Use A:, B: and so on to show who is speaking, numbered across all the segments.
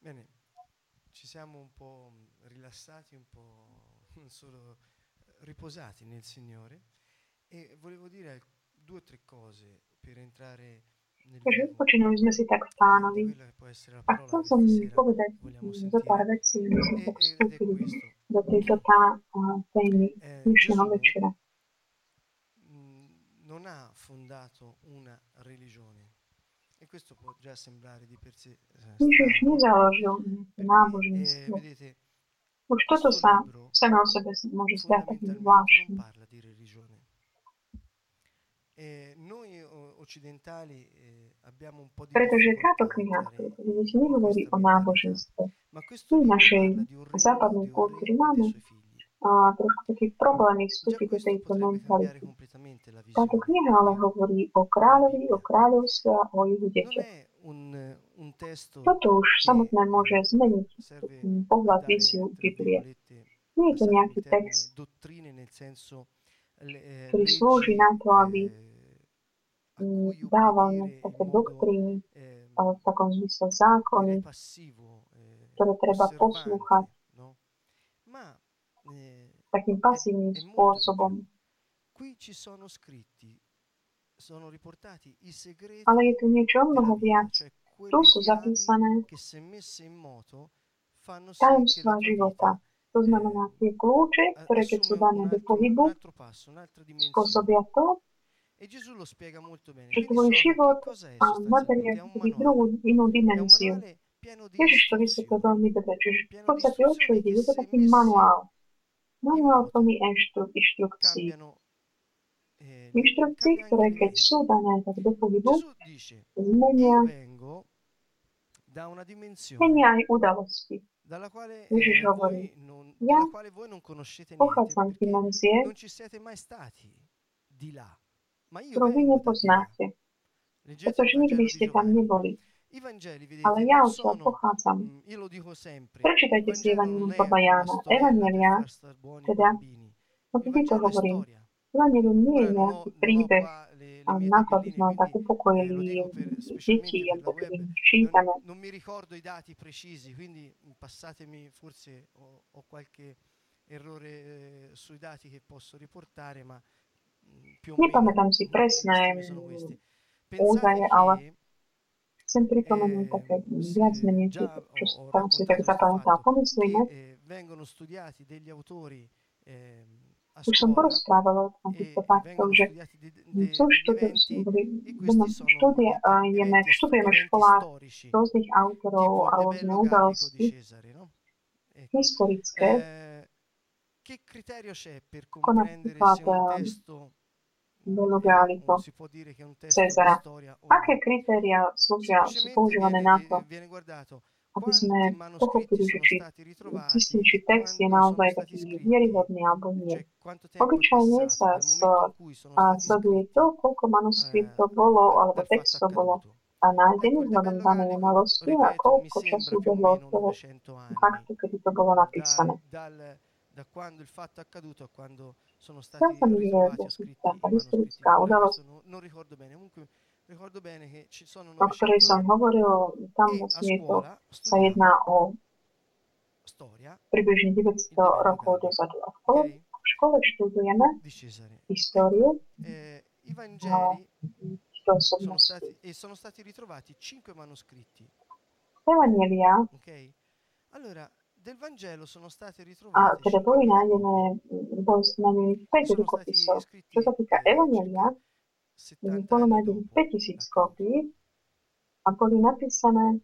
A: Bene, ci siamo un po' rilassati, un po' non solo riposati nel Signore e volevo dire due o tre cose per entrare nel
B: Takže
A: vivo
B: odpočinuli sme si tak v
A: di
B: pánovi.
A: quella che può essere la
B: A
A: parola
B: chcel
A: che
B: som
A: questa sera
B: povedať
A: vogliamo
B: zo pár
A: sentire
B: vecí, aby sme tak
A: ed è
B: vstúpili
A: questo.
B: do tejto témy dnešného
A: Gesù
B: večera.
A: non ha fondato una religione e questo può già sembrare di per sé
B: Ježiš
A: strano, no?
B: nezaložil nejaké
A: Perché
B: náboženstvo.
A: vedete,
B: Už toto
A: questo
B: sa
A: libro
B: samo o sebe môže zdať takým
A: fondamentalmente non
B: zvláštnym.
A: parla di religione. Noi occidentali abbiamo un po' di
B: Pretože táto
A: difficoltà a
B: kniha,
A: entrare
B: ktorú vidíte,
A: in
B: nehovorí
A: questa
B: o
A: mentalità,
B: náboženstve.
A: ma questo
B: My v
A: libro
B: našej
A: parla di un regno,
B: západnej
A: di un
B: kultúre
A: re e dei
B: máme
A: suoi figli.
B: trošku taký problémy
A: Già
B: vstúpiť do
A: questo
B: tejto
A: potrebbe cambiare
B: mentality.
A: completamente la
B: Táto
A: visione
B: kniha ale hovorí o
A: della
B: kráľovi, o
A: Bibbia.
B: kráľovstve a o jeho
A: Non
B: deťoch.
A: è un testo
B: Toto už
A: che
B: samotné môže zmeniť
A: serve per
B: pohľad,
A: dare,
B: víziu
A: tra
B: Biblie.
A: virgolette,
B: Nie je to
A: passatemi
B: nejaký
A: il termine,
B: text,
A: dottrine, nel senso
B: ktorý slúži
A: leggi
B: na to, aby
A: a cui
B: dával
A: obbedire in
B: také
A: modo,
B: doktríny, ale v takom zmysle zákony,
A: direi, passivo,
B: ktoré treba poslúchať
A: osservante, no? Ma
B: takým
A: è,
B: pasívnym
A: è molto di più.
B: spôsobom.
A: Qui ci sono scritti, sono riportati i
B: Ale je
A: segreti
B: tu niečo o
A: della
B: mnoho
A: vita,
B: viac.
A: cioè
B: Tu
A: quelle
B: sú
A: chiavi
B: zapísané
A: che se messe in moto fanno sì che la
B: tajomstvá
A: tua
B: života.
A: vita
B: To znamená tie kľúče, ktoré keď sú
A: assume
B: dané do
A: un
B: pohybu,
A: altro passo, un'altra dimensione.
B: spôsobia to,
A: E Gesù lo spiega molto bene.
B: že
A: Quindi
B: tvoj
A: che
B: život
A: cosa è
B: naberie
A: sostanzialmente? È un
B: keby
A: manuale.
B: inú
A: È un
B: dimenziu.
A: manuale pieno di
B: Ježiš to vysvetlil
A: istruzioni,
B: veľmi dobre. Čiže v
A: pieno di
B: podstate o čo
A: istruzioni
B: ide?
A: che
B: Je to
A: se
B: taký
A: messe
B: manuál.
A: in
B: Manuál
A: moto
B: plný inštrukcií.
A: cambiano,
B: Inštrukcií,
A: cambia anche
B: ktoré
A: le
B: keď
A: vite.
B: sú dané tak do pohybu,
A: Gesù dice, io
B: zmenia,
A: vengo da una dimensione
B: zmenia aj udalosti.
A: dalla quale,
B: Ježiš hovorí, ja
A: della quale voi non conoscete niente,
B: pochádzam z
A: perché
B: dimenzie,
A: non ci siete mai stati di là. Ma io
B: ktorú vy
A: vengo da di là.
B: nepoznáte,
A: Leggete il
B: pretože nikdy
A: Vangelo di
B: ste tam
A: Giovanni.
B: neboli.
A: I Vangeli,
B: Ale
A: vedete,
B: ja
A: non
B: odtiaľ
A: sono,
B: pochádzam.
A: io lo dico sempre, il
B: Prečítajte si
A: Vangelo non
B: Evangelium
A: è
B: podľa
A: una
B: Jána.
A: storiella per
B: Evangelia,
A: far star buoni i
B: teda,
A: bambini.
B: no
A: Il
B: vždy to
A: Vangelo è
B: hovorím,
A: storia.
B: Evangelium nie je
A: Ora
B: nejaký
A: non ho
B: príbeh
A: qua le
B: a
A: mie
B: na to, aby
A: tabelline,
B: sme tak
A: quindi lo
B: upokojili
A: dico
B: deti,
A: specialmente per la
B: alebo keď
A: web.
B: im čítame.
A: Non mi ricordo i dati precisi, quindi passatemi, forse ho qualche errore sui dati che posso riportare, ma più o meno
B: Nepamätám si
A: le
B: presné
A: stime sono queste.
B: údaje,
A: Pensate
B: ale
A: che
B: chcem pripomenúť také viac menej,
A: già
B: čo
A: ho
B: tam si tak
A: raccontato questo
B: zapamätal.
A: fatto,
B: Pomyslíme,
A: che vengono studiati degli autori a
B: už som
A: scuola
B: porozprávala o týchto faktoch,
A: vengono
B: že
A: studiati
B: sú
A: degli eventi e questi sono
B: študujeme v
A: eventi
B: školách
A: storici,
B: rôznych
A: tipo
B: autorov
A: il
B: a
A: De
B: rôzne
A: Bello Gallico di
B: udalosti
A: Cesare, no? Ecco.
B: historické,
A: Che criterio c'è per
B: ako
A: comprendere
B: napríklad
A: se un testo
B: Bello-Gallico,
A: si può dire che è un testo di
B: Cezara.
A: storia o
B: Aké
A: no?
B: kritéria slúžia, sú
A: Semplicemente
B: používané na to,
A: viene guardato
B: aby
A: quanti
B: sme
A: manoscritti
B: pochopili, že
A: sono
B: či
A: stati
B: zistili,
A: ritrovati
B: či
A: e
B: text je
A: quando sono
B: naozaj
A: stati
B: taký
A: scritti,
B: vieryhodný alebo nie.
A: cioè quanto tempo è
B: Obyčajne
A: passato
B: sa
A: dal momento in cui sono stati
B: sleduje
A: scritti
B: to, koľko manuskriptov bolo, alebo
A: dal fatto
B: textov bolo
A: accaduto. Ecco,
B: nájdených
A: il De
B: vzhľadom
A: Bello
B: danej
A: Gallico,
B: udalosti a
A: ripeto, mi
B: koľko
A: sembra
B: času
A: più o
B: ubehlo od
A: meno
B: toho
A: 900 anni,
B: faktu, kedy to bolo napísané.
A: da quando il fatto è accaduto a quando sono
B: Zdá
A: stati
B: sa mi, že
A: ritrovati o scritti
B: tá
A: i manoscritti.
B: historická
A: Ora questo
B: udalosť,
A: non ricordo bene, comunque ricordo bene che ci sono
B: o ktorej
A: 900
B: som
A: anni.
B: hovoril, tam
A: E a
B: vlastne
A: scuola
B: sa jedná
A: studiamo
B: o
A: storia,
B: približne
A: il De
B: 900
A: Bello
B: rokov
A: Gallico,
B: dozadu. A
A: ok?
B: v škole študujeme
A: Di Cesare. Ecco,
B: históriu
A: i Vangeli
B: týchto
A: sono
B: osobností.
A: stati ritrovati 5 manoscritti,
B: Evangelia,
A: ok? Allora, del Vangelo sono state
B: a
A: ritrovate
B: teda
A: 5
B: nájdených 5
A: sono stati
B: rukopisov. Čo
A: scritti
B: sa týka Evangelia,
A: circa 70
B: bolo
A: anni
B: nájdených
A: dopo
B: 5000
A: l'accaduto.
B: kópií a boli napísané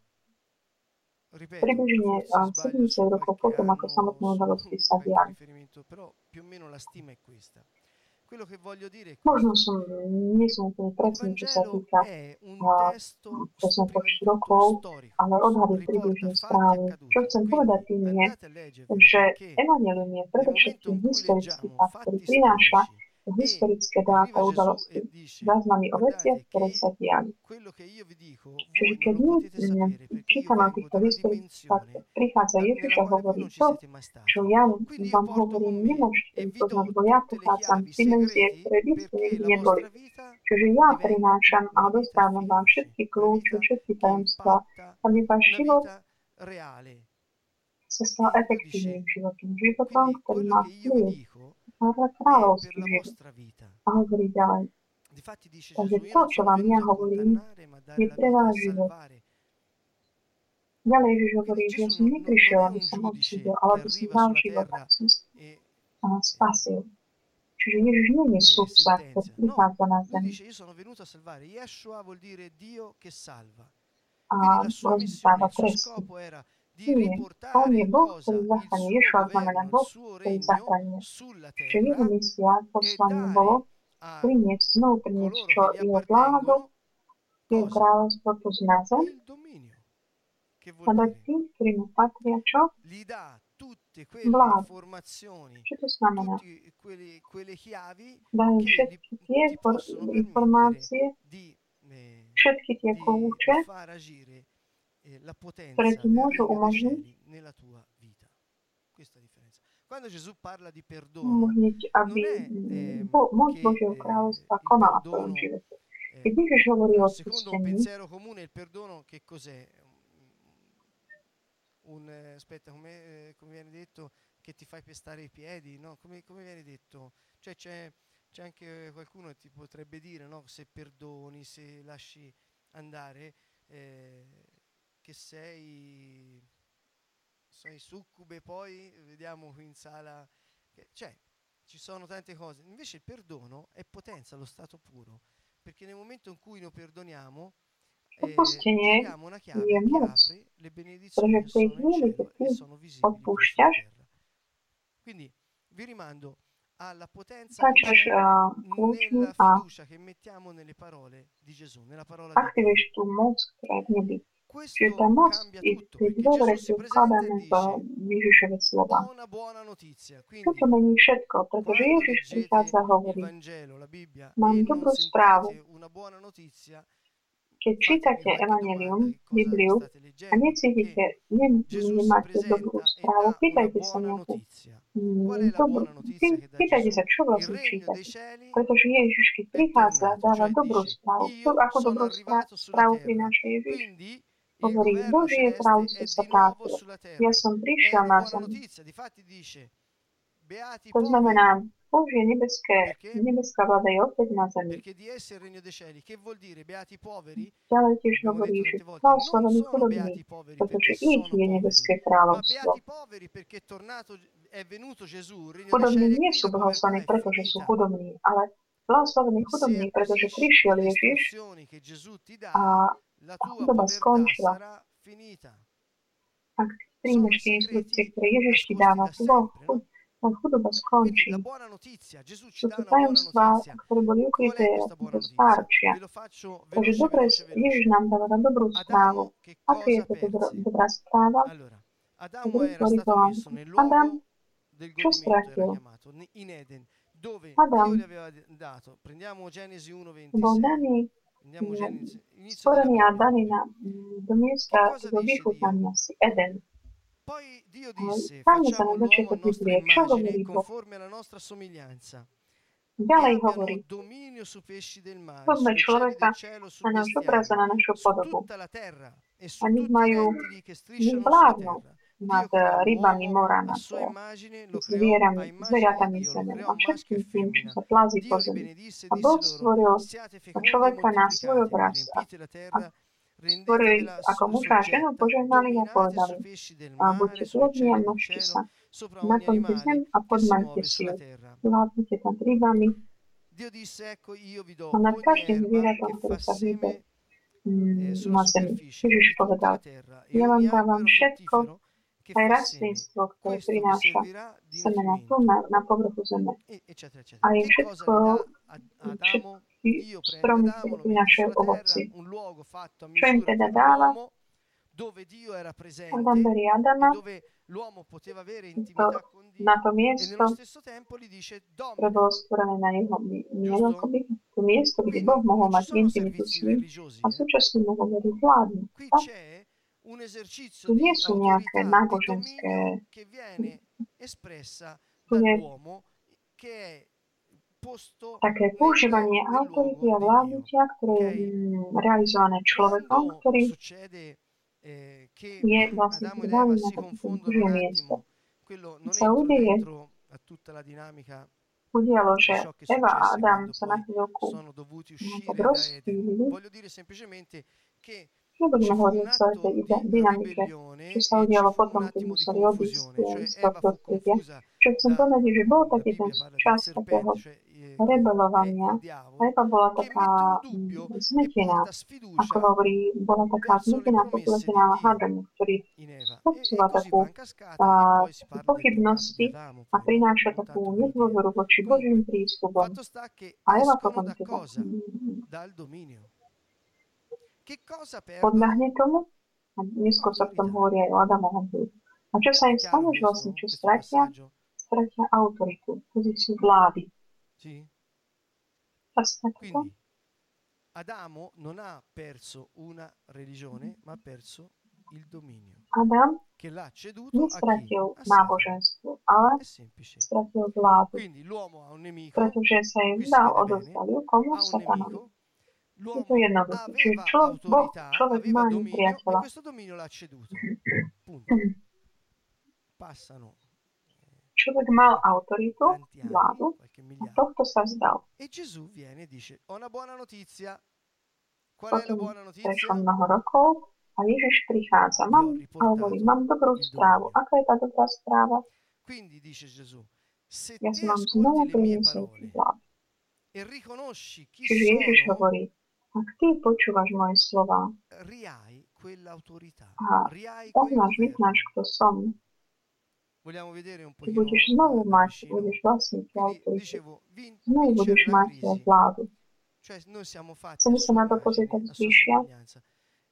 A: Ripeto,
B: približne
A: forse sbaglio su
B: 70 rokov
A: qualche
B: potom, ako
A: anno,
B: samotné
A: su
B: udalosti sa
A: qualche
B: diali.
A: riferimento, però più o meno la stima è questa. Quello che voglio dire è
B: Možno
A: questo.
B: nie som úplne
A: Il
B: presný, čo sa
A: Vangelo
B: týka
A: è un testo
B: presne
A: prima di
B: počtu
A: tutto
B: rokov,
A: storico,
B: ale odhady
A: riporta
B: približne
A: fatti
B: správny. Čo
A: accaduti.
B: chcem povedať
A: Quindi
B: tým je,
A: andate a leggervelo
B: že
A: perché
B: Evangelium je
A: nel momento
B: predovšetkým
A: in cui
B: historický
A: leggiamo
B: fakt, ktorý
A: fatti
B: prináša
A: storici e
B: historické dáta,
A: arriva Gesù
B: udalosti,
A: e dice
B: záznamy o veciach,
A: guardate
B: ktoré sa
A: che
B: diali.
A: quello che io vi dico
B: Čiže
A: voi non
B: keď
A: lo
B: my
A: potete sapere perché io
B: čítame o
A: vengo
B: týchto
A: da una
B: historických faktoch,
A: dimensione
B: prichádza Ježiš
A: nella
B: a
A: quale voi
B: hovorí
A: non ci
B: to,
A: siete mai
B: čo
A: stati.
B: ja
A: Quindi io
B: vám
A: porto con
B: hovorím,
A: me
B: nemôžete
A: e
B: to
A: vi
B: poznať,
A: do
B: bo ja
A: tutte le
B: pochádzam
A: chiavi
B: z dimenzie,
A: segreti
B: ktoré vy ste
A: perché
B: nikdy
A: la
B: neboli.
A: vostra vita
B: Čiže ja
A: diventi
B: prinášam a
A: una vita
B: dostávam vám
A: efficace,
B: všetky
A: una
B: kľúče,
A: vita
B: všetky
A: che
B: tajomstvá,
A: impatta,
B: aby váš
A: una
B: život
A: vita reale.
B: sa stal
A: Dio
B: efektívnym
A: dice,
B: životom, životom,
A: quindi
B: ktorý
A: quello
B: má
A: che io vi
B: vplyv
A: dico
B: na
A: è per
B: kráľovský
A: la
B: život.
A: vostra vita.
B: A hovorí ďalej.
A: Difatti dice
B: Takže
A: Gesù, io
B: to,
A: non
B: čo
A: sono
B: vám ja
A: venuto a
B: hovorím,
A: condannare, ma a
B: je
A: dare la
B: pre
A: vita, a
B: váš život.
A: salvare.
B: Ďalej Ježiš hovorí,
A: Quindi
B: že ja
A: Gesù
B: som neprišiel,
A: non è
B: aby
A: un
B: som odsúdil,
A: giudice
B: ale
A: che
B: aby som
A: arriva
B: dal
A: sulla
B: život,
A: terra
B: aby som
A: e,
B: spasil. Čiže Ježiš nie je
A: e
B: sudca, ktorý
A: sentenzia. No,
B: prichádza na
A: lui
B: zem
A: dice io sono venuto a salvare. Yeshua vuol dire Dio che salva.
B: a
A: Quindi la sua missione,
B: rozdáva
A: il suo
B: tresty.
A: scopo era di
B: Nie, on je
A: riportare
B: Boh, ktorý
A: cosa? Il
B: zachraňuje.
A: suo
B: Ješua znamená
A: governo, il
B: Boh,
A: suo
B: ktorý
A: regno
B: zachraňuje.
A: sulla
B: Čiže jeho
A: terra
B: misia,
A: e
B: poslanie
A: dare
B: bolo
A: a
B: znovu priniesť
A: coloro
B: čo
A: che gli
B: jeho vládu,
A: appartengono
B: jeho
A: cosa?
B: kráľovstvo tu na zem,
A: Il dominio. Che
B: a
A: vuol
B: dať
A: dire?
B: tým, ktorí mu patria čo?
A: Gli dà tutte quelle
B: Vládu.
A: informazioni,
B: Čo to znamená?
A: tutte quelle chiavi
B: Dajú
A: che
B: všetky tie
A: ti possono permettere
B: informácie, všetky tie
A: di
B: kľúče,
A: far agire la
B: ktoré
A: potenza
B: ti
A: del
B: môžu
A: regno dei
B: umožniť
A: cieli nella tua vita. Questa è la differenza. Quando Gesù parla di perdono,
B: umožniť, aby
A: non è
B: moc
A: che
B: Božieho kráľovstva
A: il
B: konala v tvojom
A: perdono,
B: živote. Keď Ježiš hovorí o
A: secondo un
B: odpustení,
A: pensiero comune, il perdono che cos'è? Aspetta, come viene detto, che ti fai pestare i piedi, no? Come viene detto? Cioè c'è anche qualcuno che ti potrebbe dire, no? Se perdoni, se lasci andare, che sei succube, poi vediamo qui in sala, cioè ci sono tante cose. Invece il perdono è potenza, lo stato puro, perché nel momento in cui noi perdoniamo,
B: odpustenie
A: giriamo una chiave
B: je
A: che
B: moc,
A: apre le benedizioni
B: pretože
A: che
B: v tej
A: sono in
B: chvíli, keď
A: cielo
B: ty
A: e sono visibili poi
B: odpúšťaš,
A: sulla terra. Quindi vi rimando alla potenza che
B: začneš
A: c'è
B: kľúčmi
A: nella
B: a
A: fiducia che mettiamo nelle parole di Gesù, nella parola di Dio.
B: aktivuješ tú moc, ktorá je v nebi. Čiže tá
A: Questo
B: moc
A: cambia
B: je
A: tutto,
B: tej
A: perché
B: dôvere,
A: Gesù si
B: ktorú
A: presenta
B: vkladáme
A: e
B: v
A: dice:
B: Ježišove
A: ho
B: slova.
A: una buona notizia.
B: Toto
A: Quindi
B: mení všetko, pretože
A: quando
B: Ježiš
A: leggete
B: prichádza a
A: il
B: hovorí,
A: Vangelo, la Bibbia,
B: mám
A: e non
B: dobrú správu.
A: sentite una buona notizia,
B: Keď
A: fatevi
B: čítate
A: qualche domanda:
B: Evangelium,
A: che cosa
B: Bibliu,
A: state
B: a
A: leggendo?
B: necítite,
A: Perché Gesù si
B: nemáte dobrú
A: presenta e
B: správu,
A: dà una
B: pýtajte sa
A: buona
B: nejakú
A: notizia. Qual è la buona notizia che dà
B: pýtajte
A: Gesù?
B: sa, čo
A: Il
B: vlastne
A: regno dei
B: čítate.
A: cieli
B: Pretože Ježiš, keď
A: è
B: prichádza,
A: tornato,
B: dáva
A: cioè
B: dobrú
A: dice:
B: správu.
A: io
B: Ako
A: sono
B: dobrú
A: arrivato sulla
B: správu
A: terra,
B: prináša Ježiš?
A: quindi il
B: Hovorí,
A: governo
B: Božie
A: celeste
B: kráľovstvo
A: è
B: sa
A: di nuovo
B: vrátilo.
A: sulla terra.
B: Ja som
A: È
B: prišiel
A: una
B: na
A: buona
B: zem.
A: notizia, difatti dice: beati i
B: To
A: poveri,
B: znamená, Božie
A: perché?
B: nebeská vláda je opäť na zemi.
A: Perché di esse il regno dei cieli. Che vuol dire beati i poveri?
B: Ďalej tiež
A: Abbiamo
B: hovorí,
A: detto
B: že
A: tante volte, non
B: blahoslavení
A: sono
B: chudobní,
A: beati i poveri
B: pretože
A: perché
B: ich
A: sono
B: je
A: poveri,
B: nebeské
A: ma
B: kráľovstvo.
A: beati i poveri perché è venuto Gesù, il regno dei
B: Chudobní
A: cieli è
B: nie
A: qui,
B: sú
A: la povertà
B: blahoslavení,
A: è
B: pretože sú
A: finita.
B: chudobní, ale blahoslavení chudobní,
A: Se
B: pretože
A: acquisisci
B: prišiel
A: quelle
B: Ježiš
A: istruzioni che Gesù ti dà,
B: a
A: la tua
B: chudoba
A: povertà
B: skončila.
A: sarà finita.
B: Ak
A: Sono
B: príjmeš tie inštrukcie,
A: segreti
B: ktoré Ježiš ti
A: nascosti
B: dáva,
A: da sempre, no?
B: chudoba
A: Quindi
B: skončí.
A: la buona notizia, Gesù ci
B: Sú
A: dà
B: to
A: una buona
B: tajomstvá,
A: notizia.
B: ktoré boli
A: Qual
B: ukryté
A: è questa buona
B: do
A: notizia?
B: stárčia.
A: Ve lo faccio
B: Takže
A: veloce.
B: Ježiš nám dáva dobrú správu.
A: Adamo che
B: Aká je
A: cosa
B: to
A: perse?
B: dobrá správa?
A: Allora, Adamo
B: Dobrý
A: era stato
B: Bohan.
A: messo nel
B: Adam,
A: luogo del
B: čo
A: godimento, era
B: stratil?
A: chiamato, in Eden, dove
B: Adam
A: Dio gli aveva dato. Prendiamo Genesi
B: bol
A: 1:26.
B: daný,
A: Andiamo Genesi, inizio
B: stvorený
A: della
B: a
A: Bibbia
B: daný
A: proprio.
B: do miesta
A: Che cosa
B: do
A: dice
B: vychutnania si Eden.
A: Poi Dio
B: Ale
A: disse:
B: Stáňme sa
A: facciamo
B: na
A: l'uomo a
B: začiatok
A: nostra
B: Biblie. Čo hovorí
A: immagine,
B: Boh?
A: conforme alla nostra somiglianza. E
B: Ďalej
A: abbiano
B: hovorí,
A: dominio su pesci del mare,
B: robme
A: sulle cieli
B: človeka
A: del cielo, su
B: na náš obraz a
A: bestiame,
B: na našu
A: su
B: podobu.
A: tutta la terra e
B: A
A: su
B: nech
A: tutti i
B: majú,
A: rettili che
B: nech
A: strisciano sulla
B: vládnu
A: terra.
B: nad
A: Dio creò
B: rybami
A: l'uomo
B: mora,
A: a
B: nad
A: sua immagine, lo creò a immagine di
B: zvieratami
A: Dio, lo
B: zeme
A: creò
B: a
A: maschio e
B: všetkým tým, čo
A: femmina.
B: sa plazí po
A: Dio li
B: zemi.
A: benedisse e
B: A Boh
A: disse loro:
B: stvoril
A: siate fecondi e
B: človeka na svoj
A: moltiplicatevi,
B: obraz a
A: riempite la terra,
B: stvorili
A: rendetevela
B: ako muža a ženu,
A: soggetta,
B: požehnali a
A: dominate
B: povedali,
A: sui pesci del
B: a
A: mare,
B: buďte
A: sulle
B: plodní a
A: uccelli del
B: množte
A: cielo,
B: sa.
A: sopra ogni
B: Naplňte zem
A: animale
B: a
A: che si
B: podmaňte
A: muove
B: si ju.
A: sulla terra.
B: Vládnite tam rybami
A: Dio disse: ecco, io vi do
B: a nad
A: ogni
B: každým
A: erba
B: zvieratom,
A: che
B: ktoré
A: fa
B: sa hýbe
A: seme sulla
B: na zemi.
A: superficie
B: Ježiš
A: di tutta
B: povedal,
A: la terra e
B: ja vám
A: ogni
B: dávam
A: albero
B: všetko,
A: fruttifero che
B: aj
A: fa seme.
B: rastlinstvo, ktoré
A: Questo vi
B: prináša
A: servirà di
B: semena tu
A: nutrimento,
B: na povrchu zeme.
A: eccetera, eccetera.
B: A je
A: Che cosa
B: všetko,
A: gli dà ad Adamo?
B: všetky
A: Dio prende
B: stromy,
A: Adamo,
B: ktoré
A: lo mette
B: prinášajú
A: sulla terra,
B: ovoci.
A: un luogo fatto a
B: Čo im
A: misura
B: teda
A: per
B: dáva?
A: l'uomo, dove Dio era
B: Adam
A: presente
B: berie
A: e
B: Adama
A: dove l'uomo poteva avere intimità con
B: na
A: Dio,
B: to
A: e nello
B: miesto,
A: stesso tempo gli dice
B: ktoré
A: domina.
B: bolo stvorené na jeho
A: Giusto?
B: to miesto, kde
A: Qui
B: Boh mohol
A: non ci
B: mať
A: sono
B: intimitu s
A: servizi
B: ním
A: religiosi,
B: a súčasne mohol veriť vládnu.
A: qui
B: Tak?
A: c'è un esercizio
B: Tu nie
A: di
B: sú nejaké
A: autorità, di
B: náboženské,
A: dominio che viene espressa
B: tu je
A: dall'uomo, che è posto
B: také používanie
A: nel
B: autority
A: luogo
B: a
A: di Dio.
B: vládnutia, ktoré je
A: Ok?
B: realizované človekom,
A: Quando
B: ktorý
A: succede che
B: je vlastne
A: Adamo ed
B: dali
A: Eva
B: na
A: si
B: také
A: confondono
B: Božie
A: un
B: miesto.
A: attimo, quello
B: Keď
A: non
B: sa
A: entro
B: udeje,
A: dentro a tutta la dinamica
B: udialo,
A: di
B: že
A: ciò che
B: Eva a
A: successe
B: Adam
A: quando
B: sa na
A: poi
B: chvíľku
A: sono dovuti
B: tak
A: uscire da Eden.
B: rozptýlili.
A: Voglio dire semplicemente che
B: Nebudeme
A: ci fu un
B: hovoriť o celej tej
A: atto di
B: dynamike, čo
A: ribellione
B: sa
A: e ci
B: udialo
A: fu un
B: potom, keď
A: attimo di
B: museli odísť
A: confusione, cioè
B: z toho
A: Eva fu
B: prostredia.
A: confusa
B: Čo chcem
A: da,
B: povedať, je, že bol
A: la
B: taký ten
A: Bibbia parla del
B: čas takého
A: serpente, cioè quello è
B: rebelovania.
A: il
B: A
A: diavolo,
B: Eva bola
A: che mette un
B: taká
A: dubbio e
B: zmetená,
A: porta
B: ako
A: sfiducia
B: hovorí, bola taká
A: verso le
B: zmetená,
A: promesse di
B: popletená
A: Dio
B: hádom, ktorý
A: in Eva e
B: spôsobila
A: così va
B: takú
A: in cascata e poi si parla del peccato di
B: pochybnosti
A: Adamo,
B: a
A: poi
B: prináša
A: non
B: takú
A: tanto per dire.
B: nedôveru voči Božím
A: Comunque,
B: prísľubom.
A: fatto sta che
B: A Eva
A: escono
B: potom
A: da
B: teda
A: cosa? Dal dominio. Che cosa
B: podľahne
A: perdono?
B: tomu a neskôr sa v tom
A: Autorità.
B: hovorí aj o Adamovom hľudu. A čo sa
A: È
B: im
A: chiaro
B: stane, že vlastne
A: questo,
B: čo
A: questo
B: stratia?
A: passaggio?
B: Stratia autoritu, pozíciu vlády.
A: Sì?
B: Sa stane to?
A: Quindi Adamo non ha perso una religione, ma ha perso il dominio,
B: Adam
A: che l'ha ceduto a chi?
B: nestratil
A: A Satana.
B: náboženstvo, ale
A: È semplice.
B: stratil vládu,
A: Quindi l'uomo ha un nemico,
B: pretože sa im
A: qui si
B: dal,
A: vede bene,
B: odozdali komu?
A: ha un
B: Satanovi.
A: nemico,
B: Je to
A: l'uomo
B: jednoduché. Čiže
A: aveva autorità,
B: človek
A: aveva
B: má
A: dominio e
B: nepriateľa.
A: questo dominio l'ha ceduto. Punto. Passano
B: Človek mal autoritu,
A: tanti anni,
B: vládu,
A: qualche
B: a
A: migliaio,
B: tohto sa vzdal.
A: e Gesù viene e dice: Ho una buona notizia. Qual è la
B: Potom
A: buona
B: prešlo
A: notizia?
B: mnoho rokov a Ježiš prichádza.
A: Vi ho
B: Hovorí,
A: riportato
B: mám dobrú
A: il
B: správu.
A: dominio.
B: Aká je tá dobrá správa?
A: Quindi dice Gesù: Se
B: Ja
A: te
B: som vám
A: ascolti
B: znovu
A: le mie
B: priniesol
A: parole
B: vládu.
A: e riconosci chi
B: Čiže Ježiš
A: sono,
B: hovorí, ak ty počúvaš moje slova
A: rihai quell'autorità,
B: a
A: rihai quel
B: poznáš, vyznáš,
A: governo.
B: kto som,
A: Vogliamo vedere un
B: ty
A: pochino
B: budeš znovu
A: da
B: mať,
A: vicino.
B: budeš vlastniť tú
A: Quindi
B: autoritu.
A: dicevo,
B: Znovu budeš
A: vincere la
B: mať
A: crisi.
B: vládu.
A: Cioè noi siamo fatti a
B: Chceme sa
A: sua
B: na to pozrieť
A: immagine,
B: tak
A: a sua
B: zbližšia,
A: somiglianza.